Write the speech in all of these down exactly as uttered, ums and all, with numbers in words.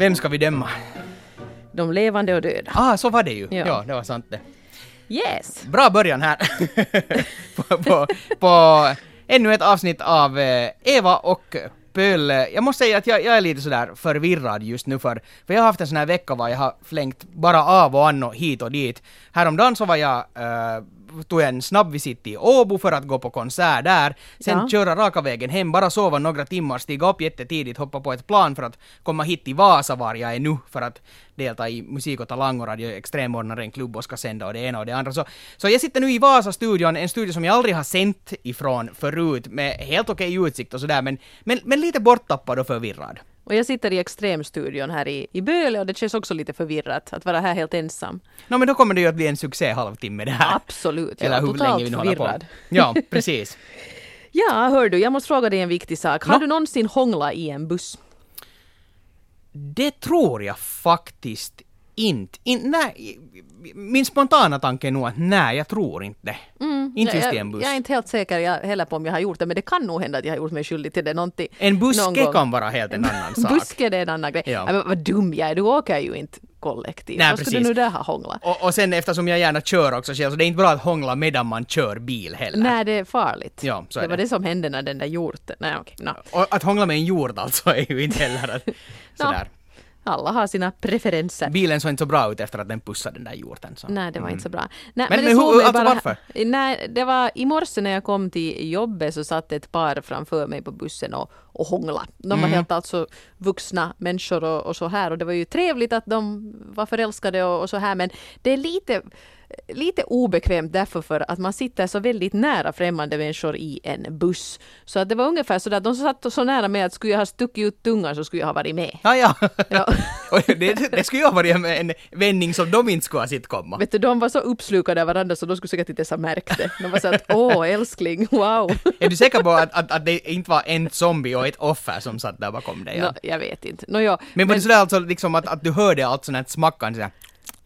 Vem ska vi döma? De levande och döda. Ah, så var det ju. Ja, Ja. det var sant det. Yes. Bra början här på, på, på ännu ett avsnitt av eh, Eva och Pöl. Jag måste säga att jag, jag är lite sådär förvirrad just nu för, för jag har haft en sån här vecka var jag har flängt bara av och an och hit och dit. Häromdagen så var jag eh, tog jag en snabb visit i Åbo för att gå på konsert där. Sen Ja. köra raka vägen hem, bara sova några timmar, stiga upp jättetidigt, hoppa på ett plan för att komma hit till Vasa var jag är nu för att delta i musik och talang och radio extremordnare en klubb och ska sända och det ena och det andra. Så, så jag sitter nu i Vasa-studion, en studio som jag aldrig har sänt ifrån förut med helt okej utsikt och sådär, men, men, men lite borttappad och förvirrad. Och jag sitter i Extremstudion här i, i Böle och det känns också lite förvirrat att vara här helt ensam. No, men då kommer det ju att bli en succé halvtimme det här. Absolut, Eller ja, hur totalt länge vi nu håller på. förvirrad. Ja, precis. Ja, hör du, jag måste fråga dig en viktig sak. Har No. du någonsin hånglat i en buss? Det tror jag faktiskt inte. In, nej, min spontana tanke är nog att nej, jag tror inte det. Mm, inte just jag, i en buss. jag är inte helt säker jag, heller på om jag har gjort det, men det kan nog hända att jag har gjort mig skyldig till det någonting. En någon buske gång. kan vara helt en annan sak. Buske det är en annan grej. Ja. Ja. Men vad dum jag är, du åker ju inte kollektivt. Nej, Vad skulle precis. du nu där ha hånglat? Och, och sen eftersom jag gärna kör också själv, så det är inte bra att hångla medan man kör bil heller. Nej, det är farligt. Ja, så är det var det. det som hände när den där hjorten... Nej, okej. No. Och att hångla med en jord alltså är ju inte heller att, sådär. Alla har sina preferenser. Bilen såg inte så bra ut efter att den pussade den där jorden. Så. Nej, det var inte så bra. Nej, Men- det men såg hur- mig alltså bara- varför? Nej, det var i morse när jag kom till jobbet så satt ett par framför mig på bussen och, och hångla. De var Mm. helt alltså vuxna människor och, och så här. Och det var ju trevligt att de var förälskade och, och så här. Men det är lite, lite obekvämt därför för att man sitter så väldigt nära främmande människor i en buss. Så att det var ungefär så att de satt så nära mig att skulle jag ha stuckit ut tungan så skulle jag ha varit med. Ah, ja. Ja. Och det, det skulle ju ha varit en, en vändning som de inte skulle ha sett komma. Vet du, de var så uppslukade av varandra så de skulle säkert inte ens ha märkt det. De var så att, åh älskling, wow. Är du säker på att, att, att det inte var en zombie och ett offer som satt där bakom dig? Ja? Nå, jag vet inte. Nå, ja, Men var det sådär alltså liksom att, att du hörde allt sånt här smackande sådär?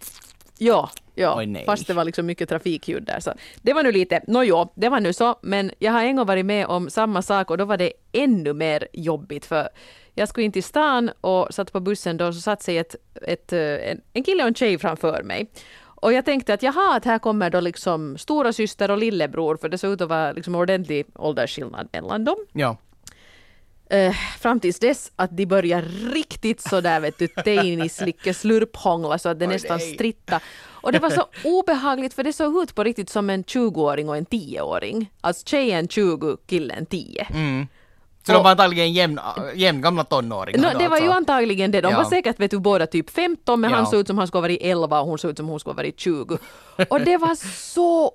ja, ja. Oj, nej. Fast det var liksom mycket trafikljud där. Så det var nu lite, nå jo, det var nu så. Men jag har en gång varit med om samma sak och då var det ännu mer jobbigt för jag skulle in till stan och satt på bussen då så satt sig ett, ett, en, en kille och en tjej framför mig. Och jag tänkte att jaha, att här kommer då liksom stora syster och lillebror för det såg ut att vara liksom ordentlig åldersskillnad mellan dem. Ja. Uh, fram tills dess att de börjar riktigt så där vet du, teinislicke slurphångla så att det Oj, nästan nej. stritta. Och det var så obehagligt för det såg ut på riktigt som en tjugoåring och en tioåring. Alltså tjejen tjugo, killen tio. Mm. Så Och- de var antagligen jämn, jämn gamla tonåringar No, då, det var ju alltså. antagligen det. De Ja. var säkert vet du, båda typ femton men Ja. han såg ut som han skulle ha varit elva och hon såg ut som hon skulle ha varit tjugo. Och det var så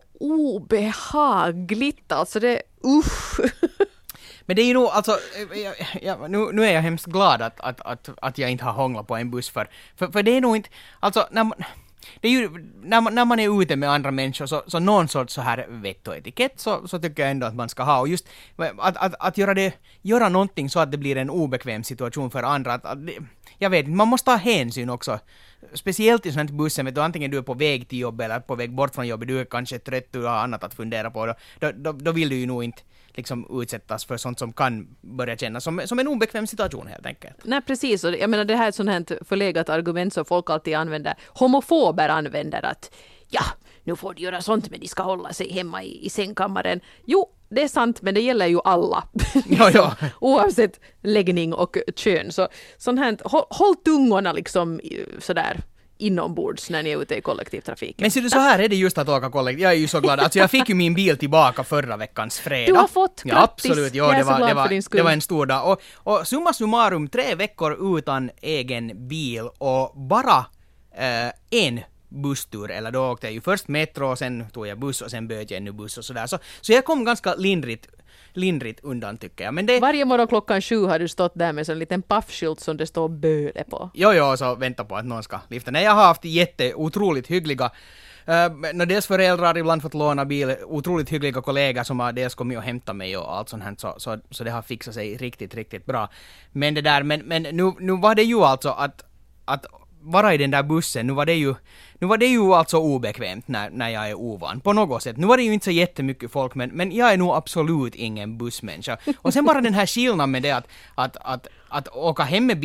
obehagligt. Alltså det, usch. Men det är ju nog, alltså, jag, jag, nu, nu är jag hemskt glad att, att, att, att jag inte har hånglat på en buss för, för, för det är nog inte, alltså, när man, det är ju, när man, när man är ute med andra människor så, så någon sorts så här vett och etikett så, så tycker jag ändå att man ska ha, och just att, att, att göra det, göra någonting så att det blir en obekväm situation för andra, att, att det, jag vet inte, man måste ha hänsyn också. Speciellt i sånt här bussen, vet du, antingen du är på väg till jobbet eller på väg bort från jobbet, du är kanske trött, du har annat att fundera på, då, då, då, då vill du ju nog inte liksom utsättas för sånt som kan börja kännas som, som en obekväm situation helt enkelt. Nej precis, och jag menar det här är ett sånt här förlegat argument som folk alltid använder, homofober använder att ja, nu får de göra sånt men de ska hålla sig hemma i, i sängkammaren. Jo, det är sant men det gäller ju alla. Ja, ja. Oavsett läggning och kön. Så sånt här, håll, håll tungorna liksom sådär inombords när ni är ute i kollektivtrafiken. Men ser du, så här är det just att åka kollektivt. Jag är ju så glad. Alltså jag fick ju min bil tillbaka förra veckans fredag. Du har fått, Ja, grattis. absolut. Jo, Jag är det så var, glad det, var, för din skull. det var en stor dag. Och, och summa summarum, tre veckor utan egen bil och bara eh, en busstur. Eller då åkte jag ju först metro och sen tog jag buss och sen böt jag ännu buss och sådär. Så, så jag kom ganska lindrigt lindrigt undan tycker jag. Men det... Varje morgon klockan sju har du stått där med en liten paffskylt som det står Böle på. Jo, jo, så vänta på att någon ska lyfta. Nej, jag har haft jätte, otroligt hyggliga Uh, dels föräldrar ibland fått låna bil, otroligt hyggliga kollegor som har dels kommit och hämtat mig och allt sånt här, så, så, så det har fixat sig riktigt, riktigt bra. Men det där, men, men nu, nu var det ju alltså att, att vara i den där bussen, nu var det ju, nu var det ju alltså obekvämt när, när jag är ovan, på något sätt. Nu var det ju inte så jättemycket folk, men, men jag är nog absolut ingen bussmänniska. Och sen bara den här skillnaden med det att, att, att, att åka hem med bil,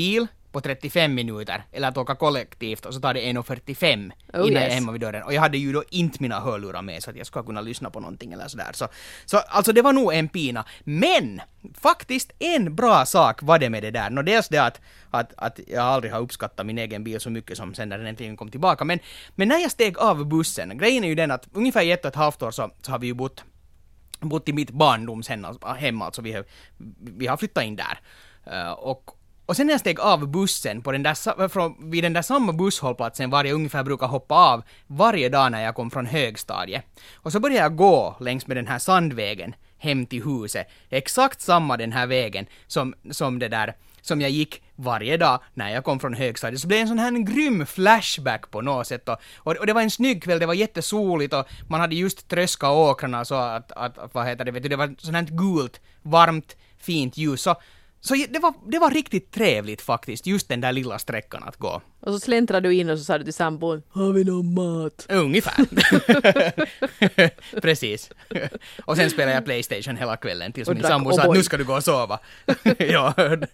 på trettiofem minuter eller att åka kollektivt och så tar det en fyrtiofem oh, innan yes. jag är hemma vid dörren. Och jag hade ju då inte mina hörlurar med så att jag skulle kunna lyssna på någonting eller sådär. Så, så alltså det var nog en pina. Men faktiskt en bra sak var det med det där. Nå, dels det att, att, att jag aldrig har uppskattat min egen bil så mycket som sen när den äntligen kom tillbaka. Men, men när jag steg av bussen, grejen är ju den att ungefär i ett och ett halvt år så, så har vi ju bott bott i mitt barndomshem, alltså vi har, vi har flyttat in där. Uh, och, och sen när jag steg av bussen på den där, från, vid den där samma busshållplatsen var jag ungefär brukar hoppa av varje dag när jag kom från högstadiet. Och så började jag gå längs med den här sandvägen hem till huset. Exakt samma den här vägen som, som det där som jag gick varje dag när jag kom från högstadiet. Så blev det en sån här en grym flashback på något sätt. Och, och det var en snygg kväll, det var jättesoligt och man hade just tröskat åkrarna så att, att vad heter det, vet du, det var sånt här gult, varmt, fint ljus. Så, så det, var, det var riktigt trevligt faktiskt, just den där lilla sträckan att gå. Och så släntrade du in och så sa du till sambon, har vi någon mat? Ungefär. Precis. Och sen spelade jag PlayStation hela kvällen tills och min sambo sa att nu ska du gå och sova. Ja,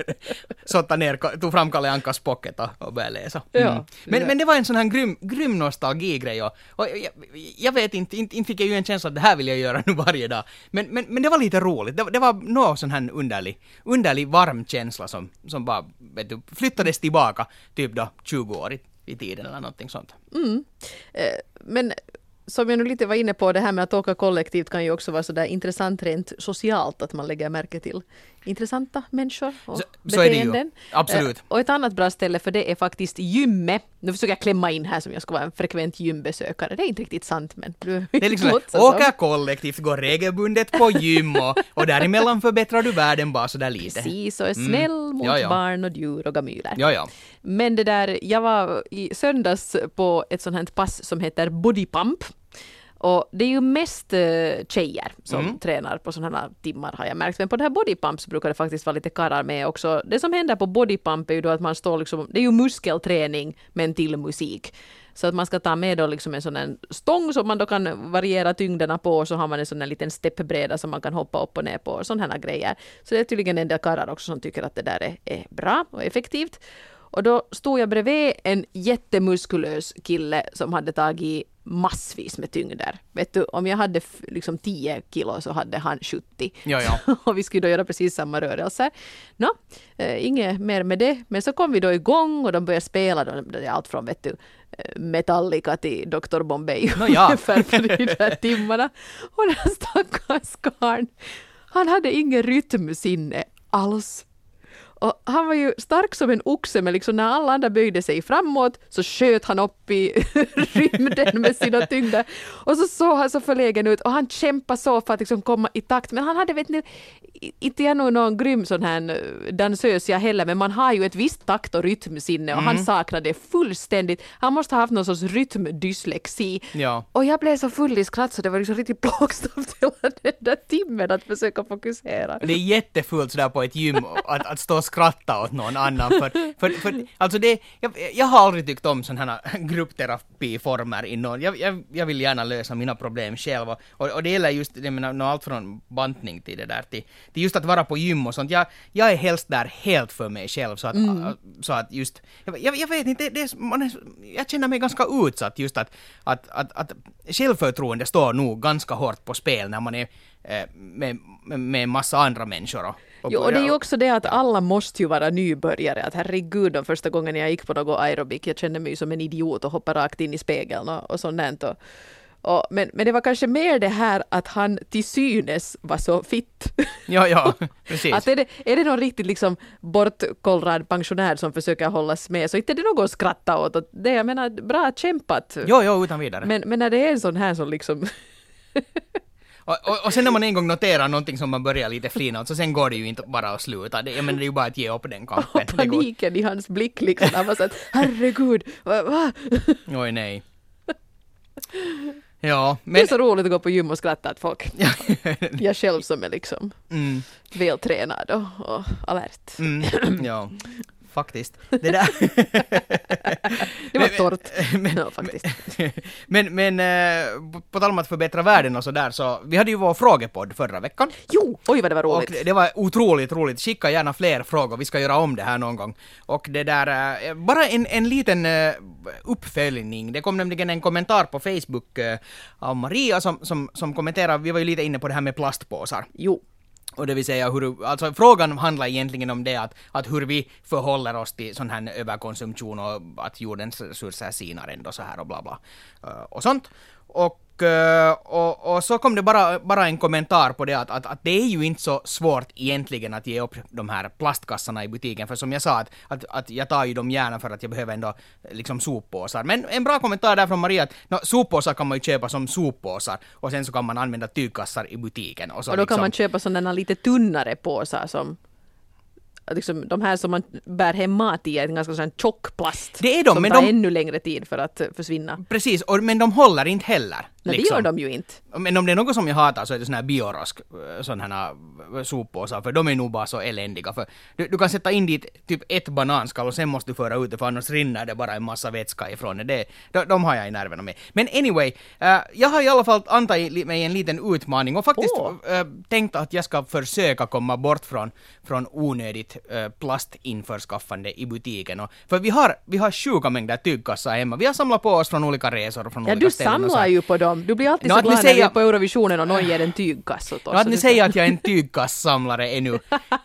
sotta ner, tog fram Kalle Ankas pocket och, och började läsa. Mm. Ja, men, ja. men det var en sån här grym, grym nostalgigrej och, och jag, jag vet inte, inte, inte fick jag ju en känsla att det här vill jag göra nu varje dag. Men, men, men det var lite roligt. Det, det var någon sån här underlig, underlig varm känsla som, som bara vet du, flyttades tillbaka typ då tjugo år i, i tiden eller någonting sånt. Mm. Eh, men som jag nu lite var inne på, det här med att åka kollektivt kan ju också vara sådär intressant rent socialt, att man lägger märke till intressanta människor och så, beteenden. Så är det ju. Absolut. Eh, och ett annat bra ställe för det är faktiskt gymmet. Nu försöker jag klämma in här som jag ska vara en frekvent gymbesökare. Det är inte riktigt sant, men du det är liksom åka kollektivt, gå regelbundet på gym och, och däremellan förbättrar du världen bara så där lite. Precis, och är snäll mm. mot ja, ja. barn och djur och gamyler. Ja, ja. Men det där, jag var i söndags på ett sånt här pass som heter Body Pump. Och det är ju mest uh, tjejer som mm. tränar på sådana här timmar har jag märkt. Men på det här bodypump så brukar det faktiskt vara lite karrar med också. Det som händer på bodypump är ju då att man står liksom, det är ju muskelträning men till musik. Så att man ska ta med då liksom en sån här stång som man då kan variera tyngderna på och så har man en sån här liten steppbräda som man kan hoppa upp och ner på och sådana här grejer. Så det är tydligen en del karrar också som tycker att det där är, är bra och effektivt. Och då stod jag bredvid en jättemuskulös kille som hade tagit massvis med tyngder. Vet du, om jag hade f- liksom tio kilo så hade han sjuttio. Ja, ja. Och vi skulle då göra precis samma rörelser. Nå, eh, inget mer med det. Men så kom vi då igång och de började spela. Då, det är allt från vet du, Metallica till doktor Bombay. No, ja. Ungefär på de där timmarna. Och den stackars karln, han hade ingen rytmsinne alls. Och han var ju stark som en oxe, men liksom när alla andra böjde sig framåt så sköt han upp i rymden med sina tyngder. Och så såg han så förlägen ut och han kämpade så för att liksom komma i takt. Men han hade, vet ni, inte jag nog någon grym sån här dansös jag heller, men man har ju ett visst takt och rytmsinne och mm. han saknade det fullständigt. Han måste ha haft någon sorts rytmdyslexi. Ja. Och jag blev så full i skratt så det var liksom riktigt plågsamt hela den där timmen att försöka fokusera. Det är jättefullt sådär på ett gym att, att stå och skratta åt någon annan. För, för, för, alltså det, jag, jag har aldrig tyckt om sådana här gruppterapiformer i någon. Jag, jag, jag vill gärna lösa mina problem själv. Och, och det gäller just jag menar, allt från bantning till det där. Till, till just att vara på gym och sånt. Jag, jag är helst där helt för mig själv. Så att, mm. så att just... Jag, jag vet inte, det är, man är, jag känner mig ganska utsatt just att, att, att, att självförtroende står nog ganska hårt på spel när man är med, med, med en massa andra människor. Och, och jo, och det är ju också det att alla måste ju vara nybörjare. Att herregud, de första gången jag gick på något aerobik, jag kände mig som en idiot och hoppade rakt in i spegeln och, och sånt. Och, och, men, men det var kanske mer det här att han till synes var så fitt. Ja, ja, precis. Att är, det, är det någon riktigt liksom bortkollrad pensionär som försöker hållas med så inte är det något att skratta åt. Och det, jag menar, bra kämpat. Jo, jo, utan vidare. Men, men när det är en sån här som liksom... Och, och, och sen när man en gång noterar någonting som man börjar lite flina åt, så sen går det ju inte bara att sluta. Det, jag menar, det är ju bara att ge upp den kampen. Och paniken i hans blick liksom. Han var så att, herregud, va? va? Oj, nej. Ja, men... Det är så roligt att gå på gym och skratta åt folk. Jag själv som är liksom mm. vältränad och, och alert. Mm. Ja. faktiskt. Det där... Det var torrt. Men, ja, faktiskt. men, men eh, på tal om att förbättra världen och så där, så vi hade ju vår frågepodd förra veckan. Jo, oj vad det var roligt. Och det var otroligt roligt. Skicka gärna fler frågor. Vi ska göra om det här någon gång. Och det där, eh, bara en, en liten eh, uppföljning. Det kom nämligen en kommentar på Facebook eh, av Maria som, som, som kommenterar, vi var ju lite inne på det här med plastpåsar. Jo. Och det vill säga, hur, alltså frågan handlar egentligen om det att, att hur vi förhåller oss till sån här överkonsumtion och att jordens resurser sinar ändå så här och bla bla och sånt. Och, och, och så kom det bara, bara en kommentar på det att, att, att det är ju inte så svårt egentligen att ge upp de här plastkassarna i butiken, för som jag sa att, att, att jag tar ju dem gärna för att jag behöver ändå liksom soppåsar. Men en bra kommentar där från Maria att no, soppåsar kan man ju köpa som soppåsar och sen så kan man använda tygkassar i butiken. Och, så och då liksom, kan man köpa sådana lite tunnare påsar som liksom, de här som man bär hem mat i är en ganska sån tjock plast. Det är de, som men tar de... ännu längre tid för att försvinna. Precis, och, men de håller inte heller. Nej, liksom. det gör de ju inte. Men om det är något som jag hatar så är det såna här biorosk, sådana här soppåsar, för de är nog bara så eländiga. För du, du kan sätta in dit typ ett bananskal och sen måste du föra ut det, för annars rinner det bara en massa vätska ifrån det. det de, de har jag i nerverna med. Men anyway, uh, jag har i alla fall antagit mig en liten utmaning och faktiskt oh. uh, tänkt att jag ska försöka komma bort från, från onödigt uh, plastinförskaffande i butiken. Och, för vi har, vi har sjuka mängder tygkassar hemma. Vi har samlat på oss från olika resor och från ja, olika du ställen. samlar ju på dem. Du blir alltid no, så glad säga... när vi är på Eurovisionen och någon ger en tygkass åt oss. No, att ni säger att jag är en tygkassamlare ännu.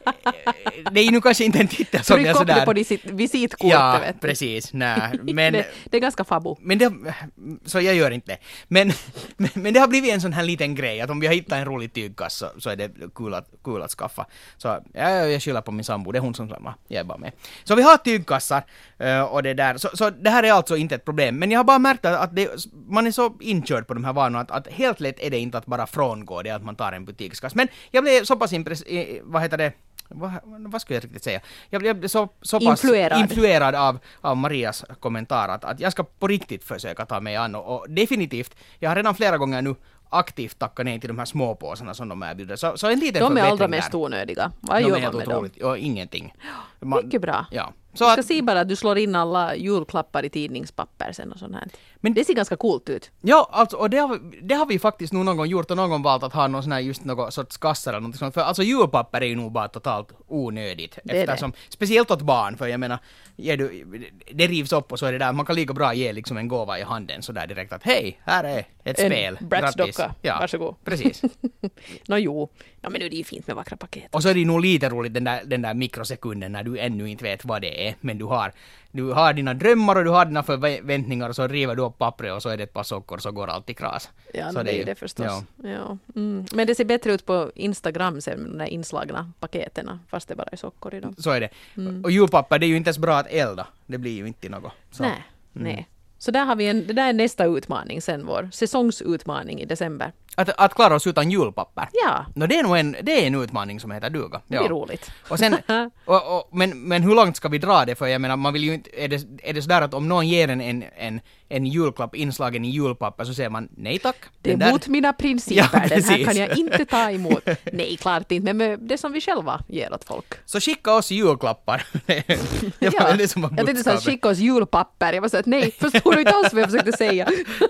Det är ju nu kanske inte en titel som jag sådär... Tryck upp det på ditt visitkort, ja, vet du. precis. Nej, men... det, det är ganska fabo. Men det, så jag gör inte det. Men, men, men det har blivit en sån här liten grej att om vi har hittat en rolig tygkass så, så är det kul att, kul att skaffa. Så ja, jag skyller på min sambo, det är hon som glömmer. Jag är bara med. Så vi har tygkassar och det där. Så, så det här är alltså inte ett problem. Men jag har bara märkt att det, man är så inkörd på de här vanorna att, att helt lätt är det inte att bara frångå det att man tar en butikskass. Men jag blev så pass impress... Vad heter det? Vad, vad skulle jag riktigt säga? Jag blev så, så pass influerad, influerad av, av Marias kommentar att, att jag ska på riktigt försöka ta mig an. Och, och definitivt, jag har redan flera gånger nu aktivt tackat nej till de här småpåsarna som de erbjuder. Så, så en liten de är allra där. mest onödiga. Vad de gör är man med otroligt, dem? Ja, ingenting. Man, mycket bra. Ja. Så du ska att, se bara att du slår in alla julklappar i tidningspapper sen och sånt här. Men det ser ganska coolt ut. Ja, alltså, och det har, det har vi faktiskt nog någon gång gjort och någon gång valt att ha någon sån här just någon sorts kassar eller något sånt. För alltså julpapper är ju nog bara totalt onödigt. Det eftersom, det. Speciellt åt barn, för jag menar, ger du, det rivs upp och så är det där, man kan lika bra ge liksom en gåva i handen så där direkt att hej, här är ett en spel. Bratz-docka, ja, varsågod. Precis. Nå jo, ja, men nu är det ju fint med vackra paket. Och så är det nog lite roligt den där, den där mikrosekunden när du ännu inte vet vad det är, men du har Du har dina drömmar och du har dina förväntningar och så river du upp pappret och så är det ett par sockor så går allt i kras. Ja, så det är ju det förstås. Ja. Ja. Mm. Men det ser bättre ut på Instagram sen med de där inslagna paketen, fast det bara är sockor i dem. Så är det. Mm. Och julpapper, det är ju inte ens bra att elda. Det blir ju inte något. Så. Nej, mm. nej. Så där har vi en, det där är nästa utmaning sen, vår säsongsutmaning i december. Att, att klara oss utan julpapper? Ja. No, det, är nog en, det är en utmaning som heter duga. Det är ja. roligt. Och sen, och, och, men, men hur långt ska vi dra det? För jag menar, man vill ju inte, är det, är det sådär att om någon ger en, en, en, en julklapp inslagen i julpapper så säger man nej tack. Det är där... mot mina principer, ja, den här kan jag inte ta emot. Nej, klart inte, men med det som vi själva ger åt folk. Så skicka oss julklappar. det var ja. det som var jag tänkte så här, skicka oss julpapper. Jag var så att nej, förstår du inte alls vad jag försökte säga.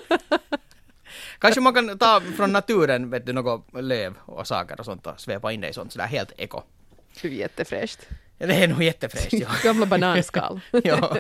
Kanske man kan ta från naturen, vet du, något löv och saker och sånt och svepa in det i sånt sådär helt eko. Det är jättefräscht. Ja, det är nog jättefräscht, ja. Gamla bananskal. ja.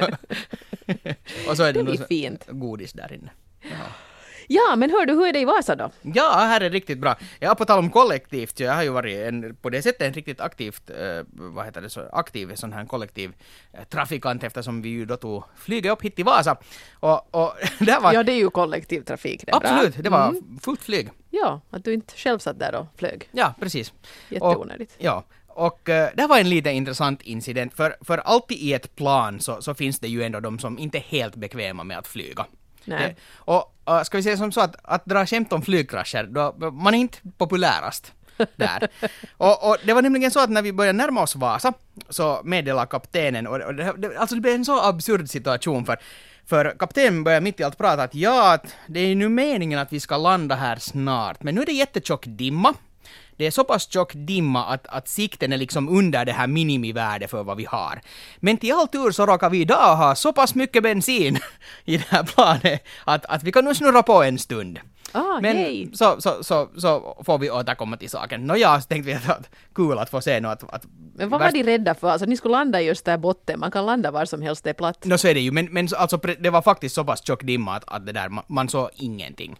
Och så är det, det nog fint. godis där inne. Ja. Ja, men hör du, hur är det i Vasa då? Ja, här är riktigt bra. Jag har på tal om kollektivt, så jag har ju varit en, på det sättet en riktigt aktivt, eh, vad heter det, så aktiv sån här kollektiv eh, trafikant eftersom vi ju då tog flyget upp hit till Vasa. Och, och det var... Ja, det är ju kollektivtrafik. Det absolut, bra. det var mm. fullt flyg. Ja, att du inte själv satt där och flög. Ja, precis. Jätteonödigt. Och, ja. Och uh, det var en lite intressant incident, för, för alltid i ett plan så, så finns det ju ändå de som inte är helt bekväma med att flyga. Nej. Det, och uh, ska vi säga som så att, att dra skämt om flygkrascher, då, man är inte populärast där. och, och det var nämligen så att när vi började närma oss Vasa så meddelade kaptenen, och, och det, det, alltså det blev en så absurd situation för För kaptenen började mitt i allt prata att ja, att det är nu meningen att vi ska landa här snart, men nu är det jättetjock dimma. det är så pass tjock dimma att, att sikten är liksom under det här minimivärdet för vad vi har. Men till all tur så råkar vi idag ha så pass mycket bensin i det här planet att, att vi kan nu snurra på en stund. Ah, Men hej. så, så, så, så får vi återkomma till saken. Nå ja, så tänkte vi att, att kul att få se något. Att, att Men vad var de rädda för? Alltså ni skulle landa just där botten. Man kan landa var som helst, det är platt. Nå så är det ju, men, men alltså, det var faktiskt så pass tjock dimma att, att det där, man, man såg ingenting.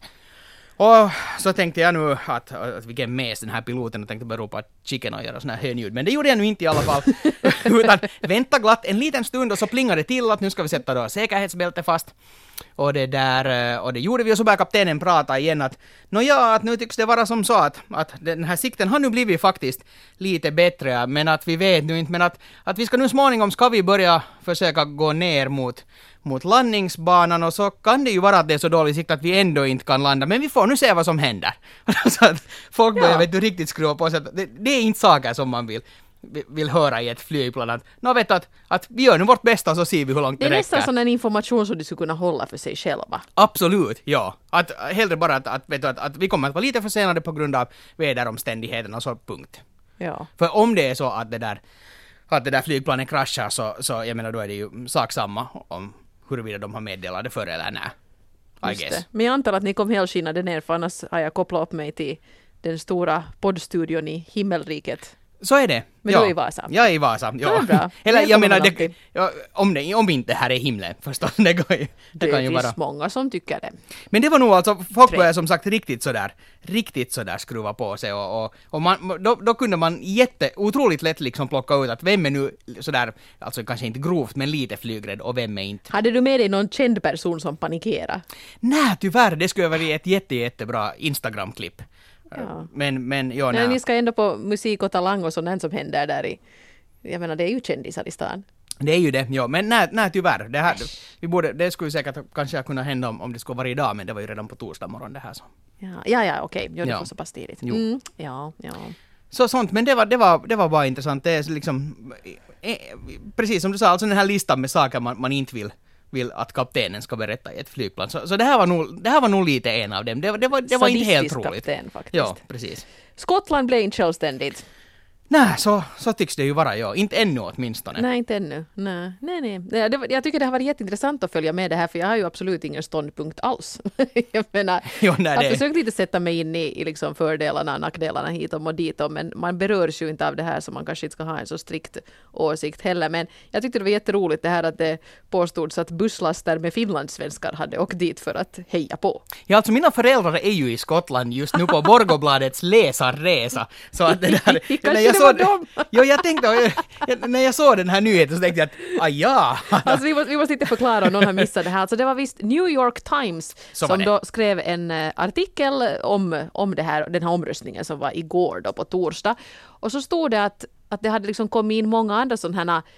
Och så tänkte jag nu att, att vilken mes den här piloten och tänkte bara ropa chicken och göra såna här hönljud. Men det gjorde jag nu inte i alla fall. Utan vänta glatt en liten stund och så plingade det till att nu ska vi sätta då säkerhetsbälte fast. Och det där, och det gjorde vi och så började kaptenen prata igen att nå ja, att nu tycks det vara som så att, att den här sikten har nu blivit faktiskt lite bättre, men att vi vet nu inte, men att, att vi ska nu småningom ska vi börja försöka gå ner mot mot landningsbanan och så kan det ju vara att det är så dålig sikt att vi ändå inte kan landa, men vi får nu se vad som händer. Så att folk börjar ja. vet du, riktigt skruva på sig att det, det är inte saker som man vill vill höra i ett flygplan att, nå vet du, att, att vi gör nu vårt bästa så ser vi hur långt det, det räcker. är nästan sån en information som du skulle kunna hålla för sig själva. Absolut, ja. Att hellre bara att, att, vet du, att, att vi kommer att vara lite försenade på grund av väderomständigheterna och så punkt. Ja. För om det är så att det där, att det där flygplanet kraschar så, så jag menar då är det ju sak samma om huruvida de har meddelat det före eller nej. I Just guess. det. Men jag antar att ni kom helskinnade ner för annars har jag kopplat upp mig till den stora poddstudion i himmelriket. Så är det. Men ja. du är i Vasa. Jag är i Vasa, ja. Det är bra. Eller Det jag kommer menar, man det, ja, om, det, om inte här är himlen förstås, det, kan ju, det, Det kan ju finns vara. många som tycker det. Men det var nog alltså, folk Tre. började som sagt riktigt sådär, riktigt sådär skruva på sig och, och, och man, då, då kunde man jätte, otroligt lätt liksom plocka ut att vem är nu sådär, alltså kanske inte grovt men lite flygrädd och vem är inte. Hade du med dig någon känd person som panikerade? Nej, tyvärr, det skulle vara ett jätte, jättebra Instagram-klipp. Ja. Men, men, ja, Men nej. ni ska ändå på musik och talang och sånt som händer där i... Jag menar, det är ju kändisar i stan. Det är ju det, ja. Men nej, nej tyvärr. Det, här, vi borde, det skulle säkert kanske kunna hända om, om det skulle vara idag, men det var ju redan på torsdag morgon det här. Så, Ja, ja, ja okej. Jo, det Ja. var så pass tidigt. Jo. Mm, ja, ja. så sånt, men det var, det var, det var bara intressant. Det är liksom, eh, precis som du sa, alltså den här listan med saker man, man inte vill vill att kaptenen ska berätta i ett flygplan. Så, så det, här var nog, det här var nog lite en av dem. Det, det var, det var inte helt Sadistisk roligt. kapten faktiskt. Ja, precis. Skottland blev inte självständigt. Nej, så, så tycks det ju vara, ja. Inte ännu åtminstone. Nej, inte ännu. Nej, nej. nej. Det, det, jag tycker det har varit jätteintressant att följa med det här, för jag har ju absolut ingen ståndpunkt alls. jag menar, Jo, nej, jag har det- försökt lite sätta mig in i, i liksom fördelarna och nackdelarna hit och dit, och, men man berörs ju inte av det här, så man kanske inte ska ha en så strikt åsikt heller. Men jag tyckte det var jätteroligt det här att det påstods att busslaster med finlandssvenskar hade åkt dit för att heja på. Ja, alltså mina föräldrar är ju i Skottland just nu på Borgobladets läsarresa. Så att det där... Kanske när jag det såg var dem. Jo, jag tänkte... Jag, när jag såg den här nyheten så tänkte jag att, ah ja! Alltså vi måste, vi måste inte förklara om någon har missat det här. Alltså det var visst New York Times Så var som det. då skrev en eh, artikel om, om det här, den här omröstningen som var igår då på torsdag. Och så stod det att, att det hade liksom kommit in många andra sådana här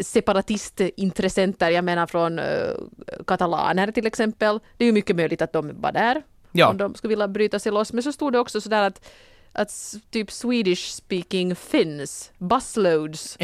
separatistintressenter, jag menar från eh, katalaner till exempel. Det är ju mycket möjligt att de var där Ja. om de skulle vilja bryta sig loss. Men så stod det också sådär att att s- typ Swedish speaking Finns, busloads,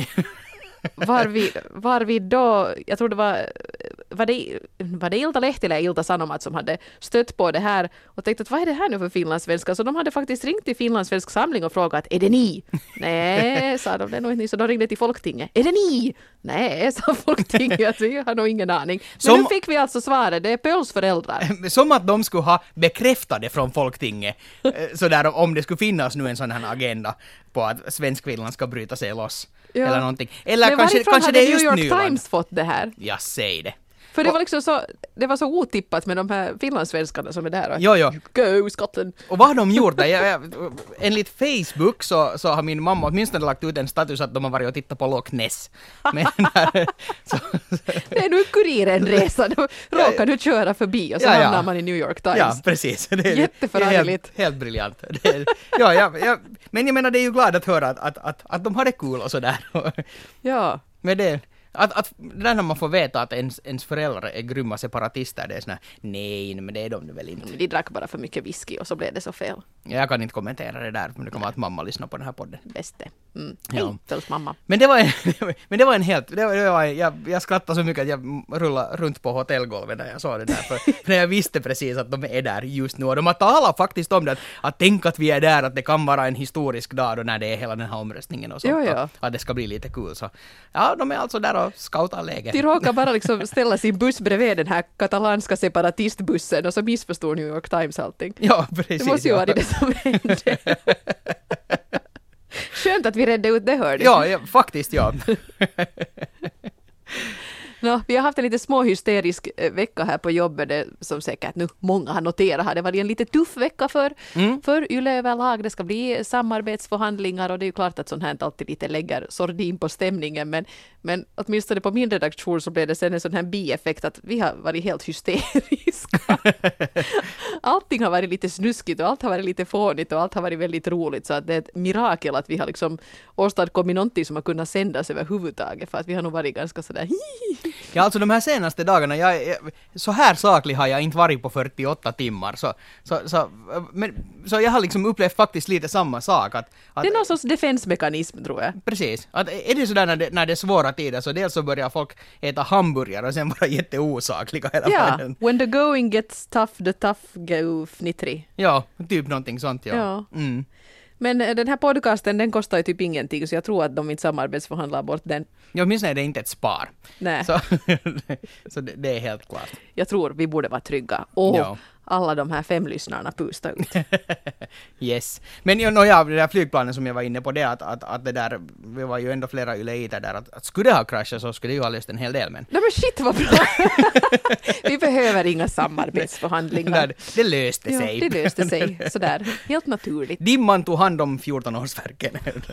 var vi, var vi då, jag tror det var, var det, var det Iltalehti eller Ilta Sanomat som hade stött på det här och tänkte att vad är det här nu för finlandssvenskar? Så de hade faktiskt ringt till Finlandssvensk samling och frågat, är det ni? Nej, sa de, det är nog inte ni. Så de ringde till Folktinget, är det ni? Nej, sa Folktinget, att vi har nog ingen aning. Men Som- nu fick vi alltså svaret, det är Pöls föräldrar. Som att de skulle ha bekräftat det från Folktinget. eh, Sådär om det skulle finnas nu en sån här agenda på att Svenskfinland ska bryta sig loss. Ja. Eller någonting. Eller Men kanske, varifrån kanske hade det är New just York Nyland. Times fått det här? Jag säger det. För det Och- var liksom så, det var så otippat med de här finlandssvenskarna som är där. Och, Jo, jo. Go Scotland! Och vad har de gjort där? Jag, jag, enligt Facebook så, så har min mamma åtminstone lagt ut en status att de har varit och tittat på Loch Ness. Men där, så, Det är nu Kuriren-resa, då råkar du köra förbi och så Ja, ja. hamnar man i New York Times. ja, precis. Det är, Jätteförargligt. det är helt, helt briljant. Det är, ja, ja, ja, men jag menar, det är ju glad att höra att, att, att, att de har det kul och sådär. Ja. Men det, Att, att det där när man får veta att ens, ens föräldrar är grymma separatister, det är såna, nej, men det är de väl inte. De drack bara för mycket whisky och så blev det så fel. Jag kan inte kommentera det där, men det kan vara att mamma lyssnar på den här podden. Bäst det. Mm. Ja. Hej, mamma. Men det var en, men det var en helt, det var, det var, jag, jag skrattade så mycket att jag rullade runt på hotellgolvet när jag såg det där, för, för jag visste precis att de är där just nu, och de har talat faktiskt om det, att, att tänk att vi är där, att det kan vara en historisk dag då när det är hela den här omröstningen och sånt, jo, ja. att, att det ska bli lite kul, så ja, de är alltså där och scoutar läget. De råkar bara liksom ställa sin buss bredvid den här katalanska separatistbussen och så missförstår New York Times allting. Ja, precis. Det måste ju ja. vara det som hände. Skönt att vi redde ut det, hörde. Ja, ja, faktiskt ja. No, vi har haft en lite småhysterisk vecka här på jobbet, det, som säkert nu många har noterat här. Det var en lite tuff vecka för, mm. för Yle överlag. Det ska bli samarbetsförhandlingar och det är ju klart att sånt här alltid lite lägger sordin på stämningen. Men, men åtminstone på min redaktion så blev det sen en sån här bieffekt att vi har varit helt hysteriska. Allting har varit lite snuskigt och allt har varit lite fånigt och allt har varit väldigt roligt. Så att det är ett mirakel att vi har liksom åstadkommit någonting som har kunnat sändas överhuvudtaget. För att vi har nog varit ganska sådär Ja, alltså de här senaste dagarna, jag, jag, så här saklig har jag inte varit på fyrtioåtta timmar. Så, så, så, men, så jag har liksom upplevt faktiskt lite samma sak. Att, att, det är någon sorts defensmekanism, tror jag. Precis. Att, är det sådär när det, när det är svåra tider, så dels så börjar folk äta hamburgare och sen vara jätteosakliga hela Ja, tiden. when the going gets tough, the tough go fnittrig. Ja, typ någonting sånt, ja. ja. Mm. Men den här podcasten, den kostar ju typ ingenting, så jag tror att de inte samarbetsförhandlar bort den. Ja, åtminstone är det inte ett spar. Nej. Så, så det, det är helt klart. Jag tror vi borde vara trygga. Och ja. alla de här fem lyssnarna pusta ut. Yes. Men ja, no, ja, det där flygplanen som jag var inne på, det att, att, att det där, vi var ju ändå flera yleiter där, att, att skulle det ha kraschat så skulle det ju ha löst en hel del, men... Nej men shit vad bra! Vi behöver inga samarbetsförhandlingar. Nej, det löste sig. Ja, det löste sig. Sådär, helt naturligt. Dimman tog hand om fjorton-årsverken.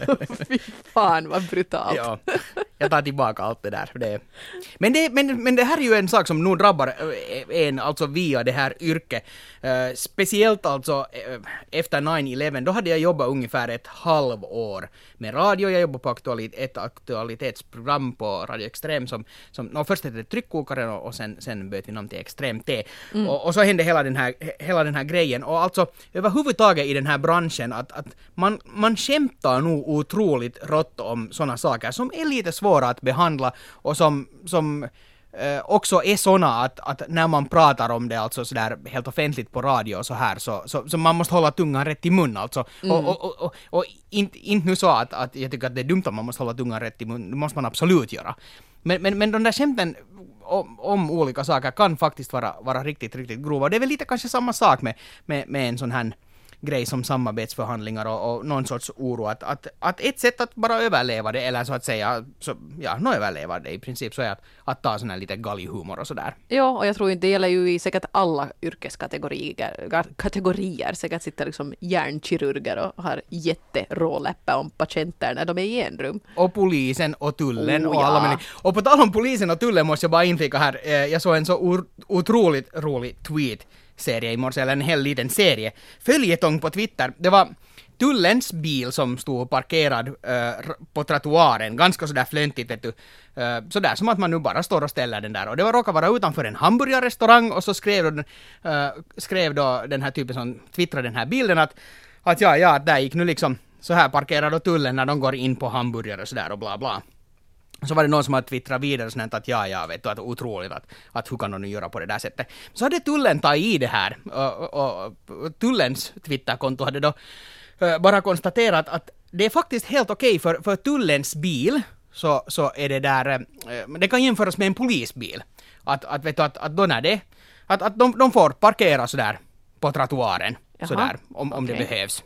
Fy fan vad brutalt. Ja, jag tar tillbaka allt det där. Det. Men, det, men, men det här är ju en sak som nog drabbar en, alltså via det här yrket. Uh, speciellt alltså uh, efter nine eleven, då hade jag jobbat ungefär ett halvår med radio. Jag jobbade på aktualit, ett aktualitetsprogram på Radio Extrem som, som no, först hette det Tryckkokaren och, och sen, sen bytte vi namn till Extrem T. Mm. Och, och så hände hela den, här, hela den här grejen. Och alltså överhuvudtaget i den här branschen att, att man, man skämtar nog otroligt rått om sådana saker som är lite svåra att behandla och som, som Eh, också är såna att, att när man pratar om det alltså sådär helt offentligt på radio och så här så, så, så man måste hålla tungan rätt i mun alltså. Mm. Och, och, och, och, och inte, inte nu så att, att jag tycker att det är dumt att man måste hålla tungan rätt i mun, det måste man absolut göra. Men, men, men de där skämten om, om olika saker kan faktiskt vara, vara riktigt, riktigt grova. Det är väl lite kanske samma sak med, med, med en sån här grej som samarbetsförhandlingar och, och någon sorts oro att, att, att ett sätt att bara överleva det eller så att säga, så, ja, nå överleva det i princip så är att, att ta sån här lite galghumor och sådär. Ja, och jag tror inte det gäller ju i säkert alla yrkeskategorier, kategorier, säkert sitter liksom hjärnkirurger och har jätteråläppar om patienter när de är i en rum. Och polisen och tullen oh, och alla ja. människor. Och på tal om polisen och tullen måste jag bara inflika här, eh, jag såg en så o- otroligt rolig tweet serie i morse, eller en hel liten serie. Följetong på Twitter. Det var tullens bil som stod parkerad uh, på trottoaren. Ganska sådär flöntigt, vet du. Uh, sådär som att man nu bara står och ställer den där. Och det var råkade vara utanför en hamburgarrestaurang och så skrev då, uh, skrev då den här typen som twittrade den här bilden att, att ja, ja, där gick nu liksom så här parkerar då tullen när de går in på hamburgare och sådär och bla bla. Så var det någon som hade twittrat vidare sånt att ja, ja, vet du, att otroligt att, att hur kan de nu göra på det där sättet. Så hade tullen tagit i det här och, och, och tullens Twitterkonto hade då uh, bara konstaterat att det är faktiskt helt okej för, för tullens bil så, så är det där, uh, det kan jämföras med en polisbil. Att, att vet du, att, att då när det, att, att de, de får parkera sådär på trottoaren, sådär, om, om okay. det behövs.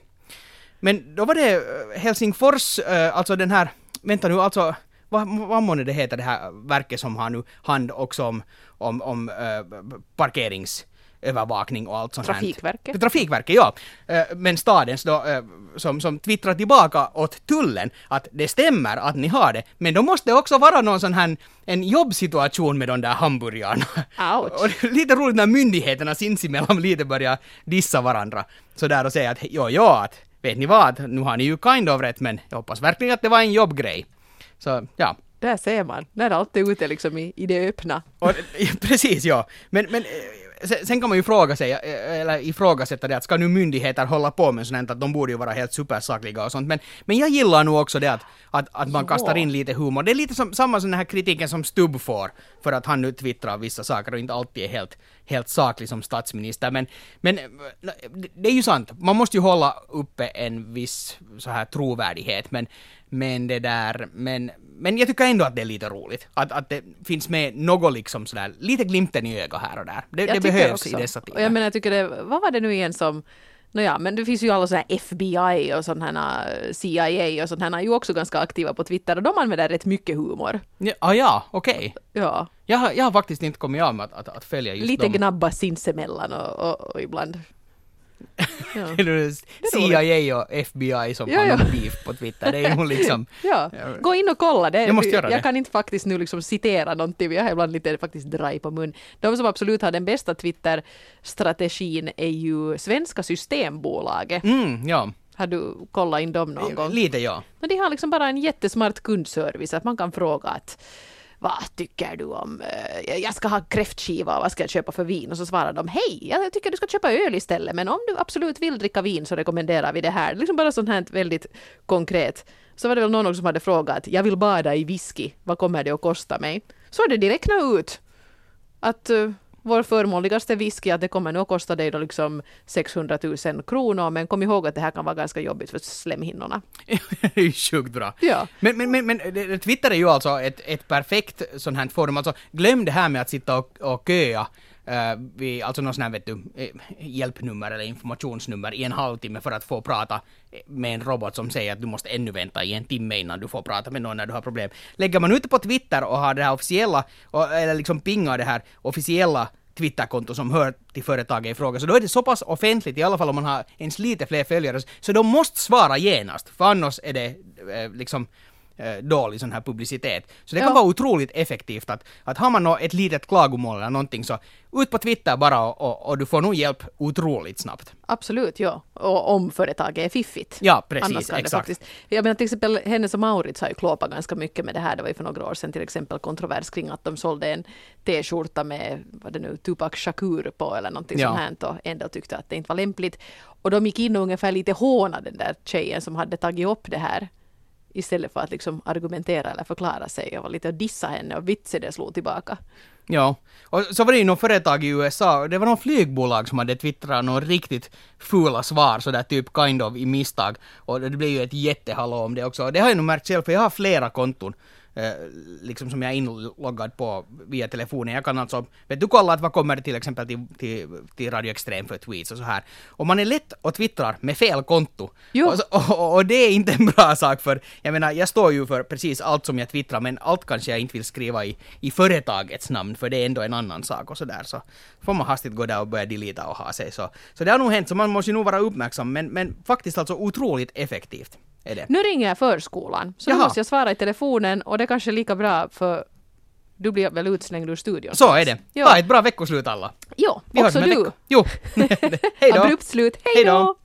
Men då var det Helsingfors, uh, alltså den här, vänta nu, alltså Vad, vad måste det heter det här verket som har nu hand också om, om, om äh, parkeringsövervakning och allt sånt här. Trafikverket? Trafikverket, ja. Äh, men stadens då, äh, som, som twittrar tillbaka åt tullen att det stämmer att ni har det, men då måste det också vara någon sån här en jobbsituation med de där hamburgarna. Ouch. Och det är lite roligt när myndigheterna sinsemellan lite börjar dissa varandra så där och säga att jo, jo, att vet ni vad, nu har ni ju kind of rätt, men jag hoppas verkligen att det var en jobbgrej. Så ja, Där ser man. När allt är ute liksom i, i det öppna. Och, precis, ja. Men, men sen, sen kan man ju fråga sig, eller ifrågasätta det, att ska nu myndigheter hålla på med sånt att de borde ju vara helt supersakliga och sånt. Men, men jag gillar nog också det att, att, att man Ja. kastar in lite humor. Det är lite som, samma som den här kritiken som Stubb får för att han nu twittrar vissa saker och inte alltid är helt, helt saklig som statsminister. Men, men det är ju sant, man måste ju hålla uppe en viss så här trovärdighet. Men, men det där, men, men jag tycker ändå att det är lite roligt. Att, att det finns med något liksom sådär, lite glimten i ögat här och där. Det, Jag det tycker behövs också. i dessa tider. Och jag menar, jag tycker det, vad var det nu igen som, nåja, men det finns ju alla sådana här F B I och sådana här C I A och sådana här, är ju också ganska aktiva på Twitter och de använder rätt mycket humor. Ja, ah, ja okej. Ja, Jag, har- jag har faktiskt inte kommit av med att, att, att följa just lite dem. gnabba sinsemellan och, och, och ibland. Ja. C I A och F B I som Ja, har ja. någon beef på Twitter. Det är nog liksom... Ja, gå in och kolla det. Jag måste göra jag det. kan inte faktiskt nu liksom citera någonting, jag har ibland lite faktiskt dry på mun. De som absolut har den bästa Twitter-strategin är ju svenska Systembolaget. Mm, ja. Har du kollat in dem någon gång? Lite ja. Men de har liksom bara en jättesmart kundservice, att man kan fråga att vad tycker du om, eh, jag ska ha kräftskiva, vad ska jag köpa för vin? Och så svarar de, hej, jag tycker du ska köpa öl istället, men om du absolut vill dricka vin så rekommenderar vi det här. Liksom bara sånt här väldigt konkret. Så var det väl någon också som hade frågat, jag vill bada i whisky, vad kommer det att kosta mig? Så är det direkt nu ut att uh, vår förmånligaste whisky, att det kommer nog att kosta dig då liksom sexhundratusen kronor, men kom ihåg att det här kan vara ganska jobbigt för slemhinnorna. Det är ju sjukt bra. Ja. Men, men, men, men det- Twitter är ju alltså ett, ett perfekt sånt här forum. Alltså, glöm det här med att sitta och, och köa uh, vid, alltså någon sån här, vet du, eh, hjälpnummer eller informationsnummer i en halvtimme för att få prata med en robot som säger att du måste ännu vänta i en timme innan du får prata med någon när du har problem. Lägger man ut på Twitter och har det här officiella, och, eller liksom pingar det här officiella Twitterkonto som hör till företaget i fråga, så då är det så pass offentligt, i alla fall om man har ens lite fler följare, så de måste svara genast, för annars är det eh, liksom eh, dålig sån här publicitet. Så det kan Ja. vara otroligt effektivt att, att har man nå ett litet klagomål eller någonting, så ut på Twitter bara och, och, och du får nog hjälp otroligt snabbt. Absolut, ja. Och om företaget är fiffigt. Ja, precis, Annars kan det exakt. faktiskt. Jag menar till exempel Hennes och Mauritz har ju klåpat ganska mycket med det här. Det var ju för några år sedan till exempel kontrovers kring att de sålde en t-skjorta med, vad det nu, Tupac Shakur på eller någonting Ja. sånt här och ändå tyckte att det inte var lämpligt. Och de gick in och ungefär lite håna den där tjejen som hade tagit upp det här istället för att liksom argumentera eller förklara sig och var lite att dissa henne och vitse det slog tillbaka. Ja, och så var det ju någon företag i U S A, det var någon flygbolag som hade twittrat någon riktigt fula svar, sådär typ kind of i misstag, och det blev ju ett jättehallå om det också. Och det har jag nog märkt själv, för jag har flera konton eh, liksom som jag är inloggad på via telefonen. Jag kan alltså, vet du, kolla att vad kommer det till exempel till, till, till Radio Extrem för tweets och så här. Och man är lätt och twittrar med fel konto. Jo. Och, så- och, och det är inte en bra sak, för jag menar, jag står ju för precis allt som jag twittrar, men allt kanske jag inte vill skriva i, i företagets namn, för det är ändå en annan sak och så där. Så får man hastigt gå där och börja delita och ha sig. Så, så det har nog hänt, så man måste ju nog vara uppmärksam, men, men faktiskt alltså otroligt effektivt är det. Nu ringer jag förskolan, så nu Jaha. måste jag svara i telefonen och det är kanske lika bra för du blir väl utslängd ur studion. Så är det. Ja. Ha ett bra veckoslut alla. Jo, Vi hörs också om en du. vecka. Jo. Hej då. Abrupt slut. Hej Hej då. då!